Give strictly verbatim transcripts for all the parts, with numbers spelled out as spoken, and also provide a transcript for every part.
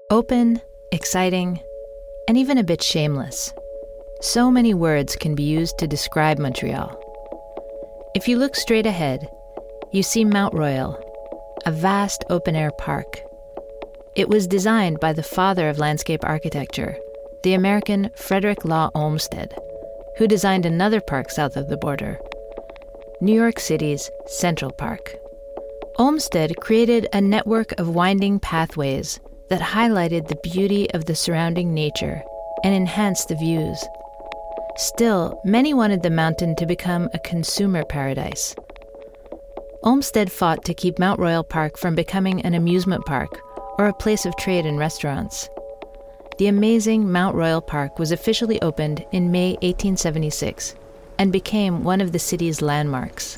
Open, exciting, and even a bit shameless. So many words can be used to describe Montreal. If you look straight ahead, you see Mount Royal, a vast open-air park. It was designed by the father of landscape architecture, the American Frederick Law Olmsted, who designed another park south of the border, New York City's Central Park. Olmsted created a network of winding pathways that highlighted the beauty of the surrounding nature and enhanced the views. Still, many wanted the mountain to become a consumer paradise. Olmsted fought to keep Mount Royal Park from becoming an amusement park or a place of trade and restaurants. The amazing Mount Royal Park was officially opened in May eighteen seventy-six and became one of the city's landmarks.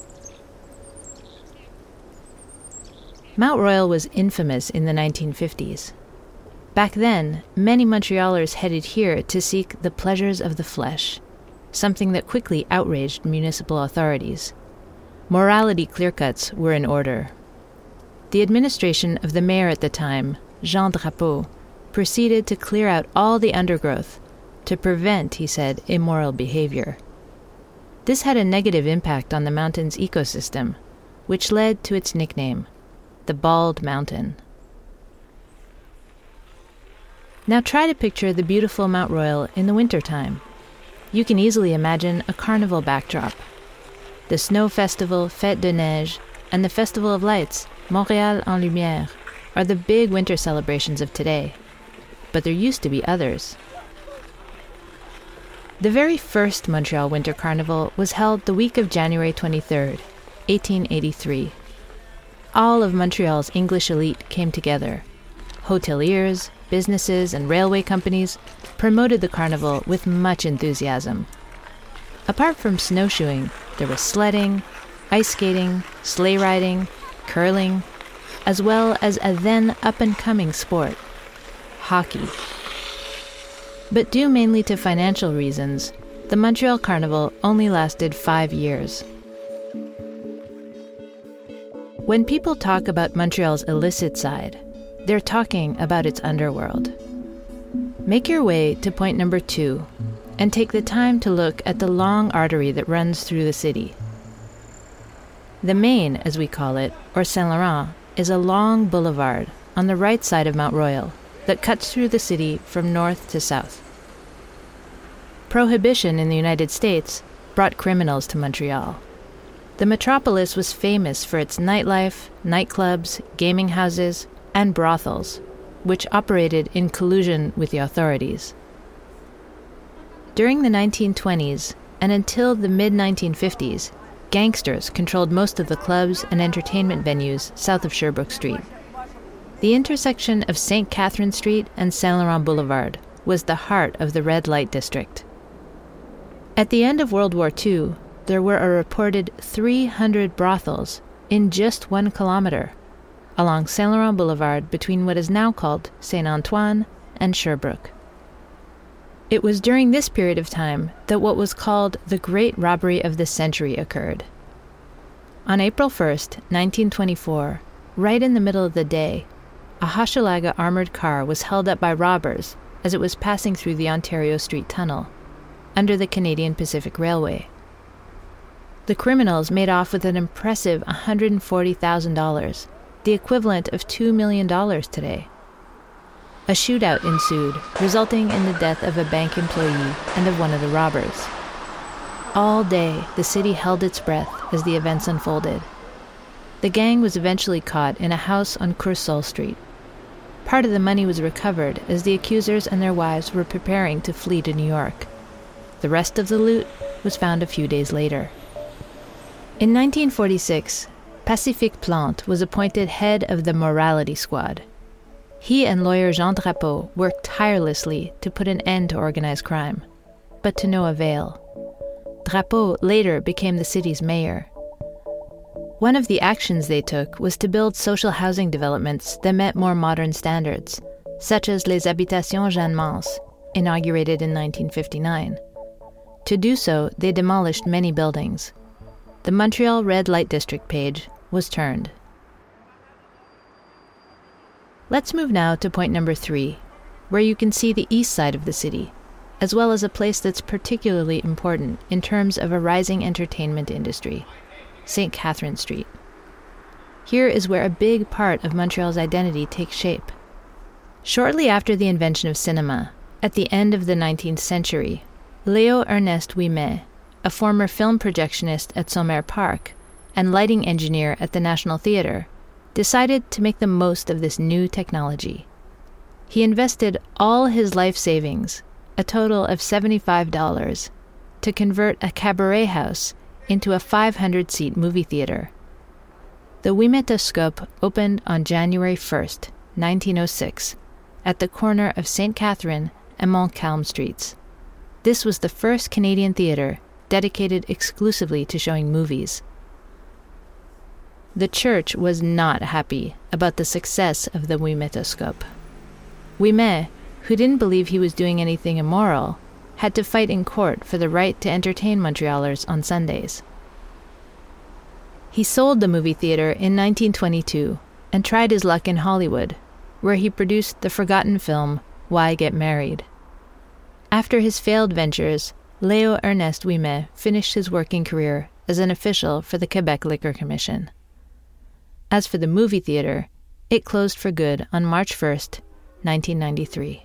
Mount Royal was infamous in the nineteen fifties. Back then, many Montrealers headed here to seek the pleasures of the flesh, something that quickly outraged municipal authorities. Morality clear-cuts were in order. The administration of the mayor at the time, Jean Drapeau, proceeded to clear out all the undergrowth to prevent, he said, immoral behavior. This had a negative impact on the mountain's ecosystem, which led to its nickname, the Bald Mountain. Now try to picture the beautiful Mount Royal in the wintertime. You can easily imagine a carnival backdrop. The snow festival, Fête de Neige, and the Festival of Lights, Montréal en Lumière, are the big winter celebrations of today. But there used to be others. The very first Montreal Winter Carnival was held the week of January twenty-third, eighteen eighty-three. All of Montreal's English elite came together. Hoteliers, businesses, and railway companies promoted the carnival with much enthusiasm. Apart from snowshoeing, there was sledding, ice skating, sleigh riding, curling, as well as a then up-and-coming sport, hockey. But due mainly to financial reasons, the Montreal Carnival only lasted five years. When people talk about Montreal's illicit side, they're talking about its underworld. Make your way to point number two and take the time to look at the long artery that runs through the city. The Main, as we call it, or Saint Laurent, is a long boulevard on the right side of Mount Royal that cuts through the city from north to south. Prohibition in the United States brought criminals to Montreal. The metropolis was famous for its nightlife, nightclubs, gaming houses, and brothels, which operated in collusion with the authorities. During the nineteen twenties and until the mid nineteen fifties, gangsters controlled most of the clubs and entertainment venues south of Sherbrooke Street. The intersection of Saint Catherine Street and Saint Laurent Boulevard was the heart of the red light district. At the end of World War Two, there were a reported three hundred brothels in just one kilometer along Saint Laurent Boulevard between what is now called Saint Antoine and Sherbrooke. It was during this period of time that what was called the Great Robbery of the Century occurred. On April first, nineteen twenty-four, right in the middle of the day, a Hochelaga armored car was held up by robbers as it was passing through the Ontario Street Tunnel, under the Canadian Pacific Railway. The criminals made off with an impressive one hundred forty thousand dollars, the equivalent of two million dollars today. A shootout ensued, resulting in the death of a bank employee and of one of the robbers. All day, the city held its breath as the events unfolded. The gang was eventually caught in a house on Coursol Street. Part of the money was recovered as the accusers and their wives were preparing to flee to New York. The rest of the loot was found a few days later. In nineteen forty-six, Pacifique Plante was appointed head of the Morality Squad. He and lawyer Jean Drapeau worked tirelessly to put an end to organized crime, but to no avail. Drapeau later became the city's mayor. One of the actions they took was to build social housing developments that met more modern standards, such as Les Habitations Jeanne Mance, inaugurated in nineteen fifty-nine. To do so, they demolished many buildings. The Montreal Red Light District page was turned. Let's move now to point number three, where you can see the east side of the city, as well as a place that's particularly important in terms of a rising entertainment industry, Saint Catherine Street. Here is where a big part of Montreal's identity takes shape. Shortly after the invention of cinema, at the end of the nineteenth century, Léo Ernest Ouimet, a former film projectionist at Sommer Park and lighting engineer at the National Theatre, decided to make the most of this new technology. He invested all his life savings, a total of seventy-five dollars, to convert a cabaret house into a five hundred seat movie theater. The Ouimetoscope opened on January first, nineteen oh six, at the corner of Saint Catherine and Montcalm Streets. This was the first Canadian theater dedicated exclusively to showing movies. The church was not happy about the success of the Ouimetoscope. Ouimet, who didn't believe he was doing anything immoral, had to fight in court for the right to entertain Montrealers on Sundays. He sold the movie theater in nineteen twenty-two and tried his luck in Hollywood, where he produced the forgotten film Why Get Married? After his failed ventures, Léo Ernest Ouimet finished his working career as an official for the Quebec Liquor Commission. As for the movie theater, it closed for good on March first, nineteen ninety-three.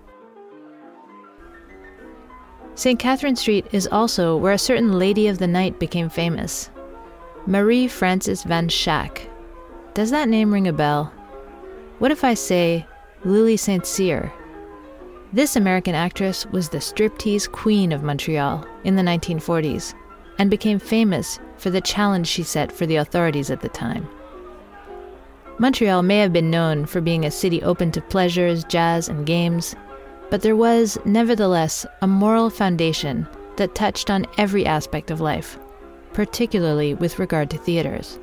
Saint Catherine Street is also where a certain lady of the night became famous, Marie Frances Van Schack. Does that name ring a bell? What if I say Lily Saint Cyr? This American actress was the striptease queen of Montreal in the nineteen forties and became famous for the challenge she set for the authorities at the time. Montreal may have been known for being a city open to pleasures, jazz, and games, but there was, nevertheless, a moral foundation that touched on every aspect of life, particularly with regard to theaters.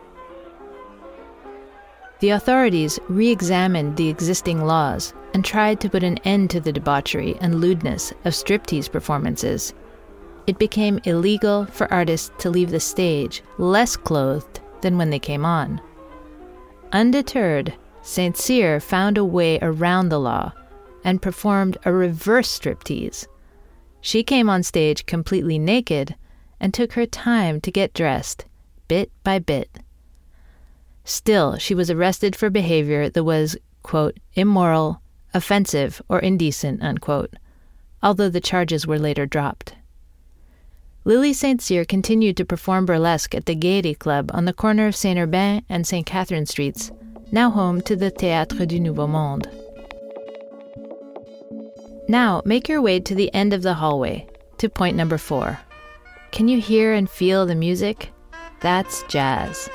The authorities re-examined the existing laws and tried to put an end to the debauchery and lewdness of striptease performances. It became illegal for artists to leave the stage less clothed than when they came on. Undeterred, Saint Cyr found a way around the law and performed a reverse striptease. She came on stage completely naked and took her time to get dressed, bit by bit. Still, she was arrested for behavior that was, quote, immoral, offensive, or indecent, unquote, although the charges were later dropped. Lily Saint Cyr continued to perform burlesque at the Gaiety Club on the corner of Saint-Urbain and Saint Catherine Streets, now home to the Théâtre du Nouveau Monde. Now, make your way to the end of the hallway, to point number four. Can you hear and feel the music? That's jazz.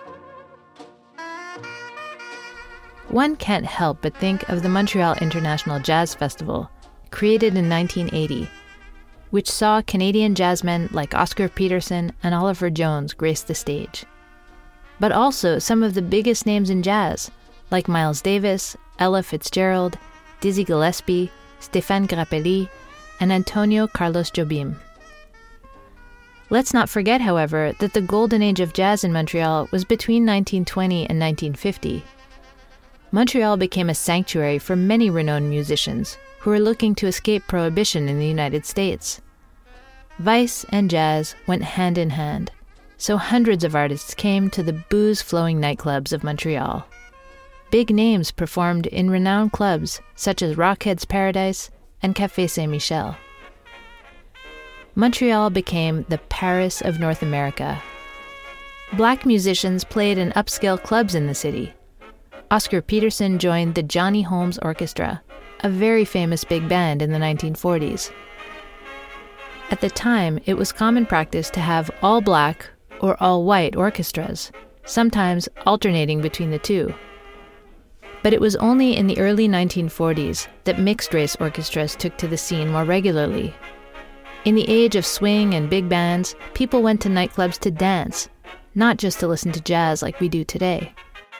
One can't help but think of the Montreal International Jazz Festival, created in nineteen eighty, which saw Canadian jazzmen like Oscar Peterson and Oliver Jones grace the stage. But also some of the biggest names in jazz, like Miles Davis, Ella Fitzgerald, Dizzy Gillespie, Stéphane Grappelli, and Antonio Carlos Jobim. Let's not forget, however, that the golden age of jazz in Montreal was between nineteen twenty and nineteen fifty. Montreal became a sanctuary for many renowned musicians who were looking to escape prohibition in the United States. Vice and jazz went hand in hand, so hundreds of artists came to the booze-flowing nightclubs of Montreal. Big names performed in renowned clubs such as Rockhead's Paradise and Café Saint-Michel. Montreal became the Paris of North America. Black musicians played in upscale clubs in the city. Oscar Peterson joined the Johnny Holmes Orchestra, a very famous big band in the nineteen forties. At the time, it was common practice to have all black or all white orchestras, sometimes alternating between the two. But it was only in the early nineteen forties that mixed-race orchestras took to the scene more regularly. In the age of swing and big bands, people went to nightclubs to dance, not just to listen to jazz like we do today.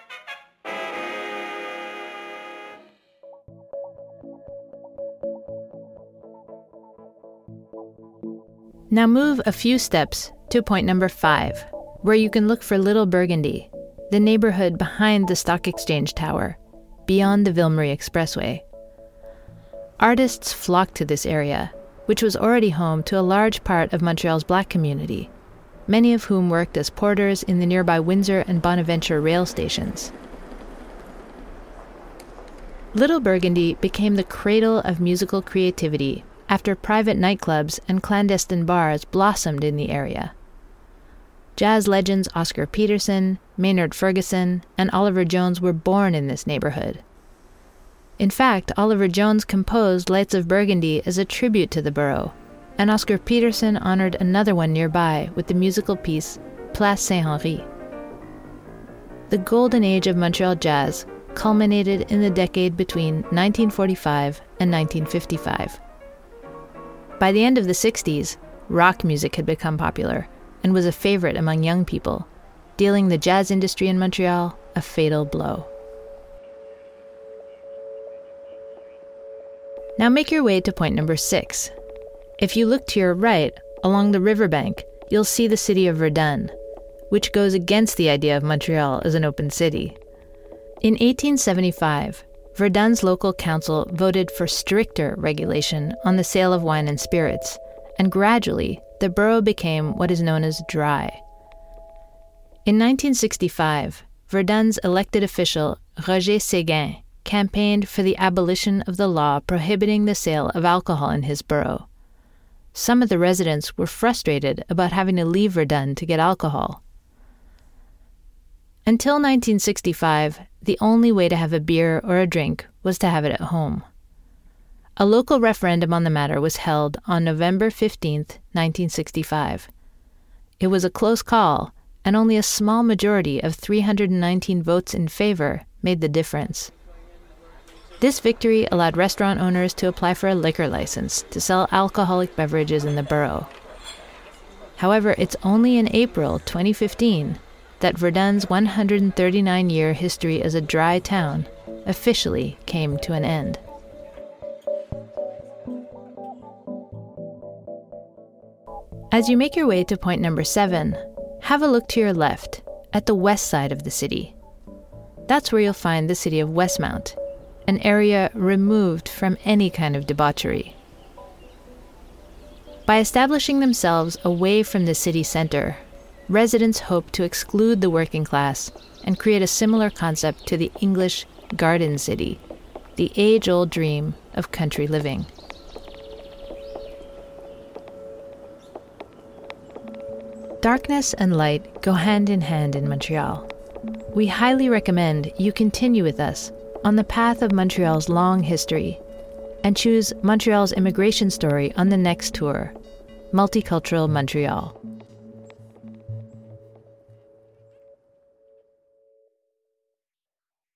Now move a few steps to point number five, where you can look for Little Burgundy, the neighborhood behind the Stock Exchange Tower, beyond the Ville-Marie Expressway. Artists flocked to this area, which was already home to a large part of Montreal's Black community, many of whom worked as porters in the nearby Windsor and Bonaventure rail stations. Little Burgundy became the cradle of musical creativity after private nightclubs and clandestine bars blossomed in the area. Jazz legends Oscar Peterson, Maynard Ferguson, and Oliver Jones were born in this neighborhood. In fact, Oliver Jones composed Lights of Burgundy as a tribute to the borough, and Oscar Peterson honored another one nearby with the musical piece Place Saint-Henri. The golden age of Montreal jazz culminated in the decade between nineteen forty-five and nineteen fifty-five. By the end of the sixties, rock music had become popular and was a favorite among young people, dealing the jazz industry in Montreal a fatal blow. Now make your way to point number six. If you look to your right, along the riverbank, you'll see the city of Verdun, which goes against the idea of Montreal as an open city. In eighteen seventy-five, Verdun's local council voted for stricter regulation on the sale of wine and spirits, and gradually, the borough became what is known as dry. In nineteen sixty-five, Verdun's elected official, Roger Séguin, campaigned for the abolition of the law prohibiting the sale of alcohol in his borough. Some of the residents were frustrated about having to leave Verdun to get alcohol. Until nineteen sixty-five, the only way to have a beer or a drink was to have it at home. A local referendum on the matter was held on November fifteenth, nineteen sixty-five. It was a close call, and only a small majority of three hundred nineteen votes in favor made the difference. This victory allowed restaurant owners to apply for a liquor license to sell alcoholic beverages in the borough. However, it's only in April twenty fifteen that Verdun's one hundred thirty-nine year history as a dry town officially came to an end. As you make your way to point number seven, have a look to your left, at the west side of the city. That's where you'll find the city of Westmount, an area removed from any kind of debauchery. By establishing themselves away from the city center, residents hope to exclude the working class and create a similar concept to the English Garden City, the age-old dream of country living. Darkness and light go hand in hand in Montreal. We highly recommend you continue with us on the path of Montreal's long history and choose Montreal's immigration story on the next tour, Multicultural Montreal.